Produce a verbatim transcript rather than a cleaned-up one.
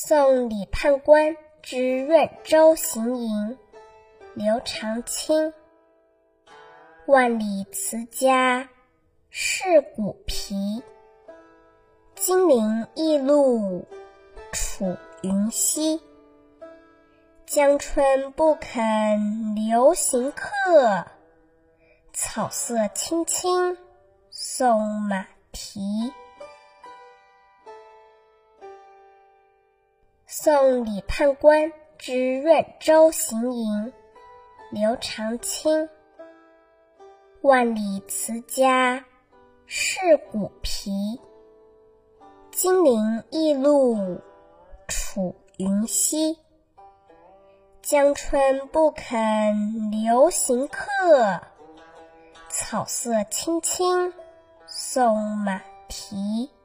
送李判官之润州行营，刘长卿。万里辞家是骨皮，金陵驿路楚云西。江春不肯留行客，草色青青送马蹄。送李判官之润州行营，刘长卿。万里辞家是骨皮，金陵驿路楚云西。江春不肯留行客，草色青青送马蹄。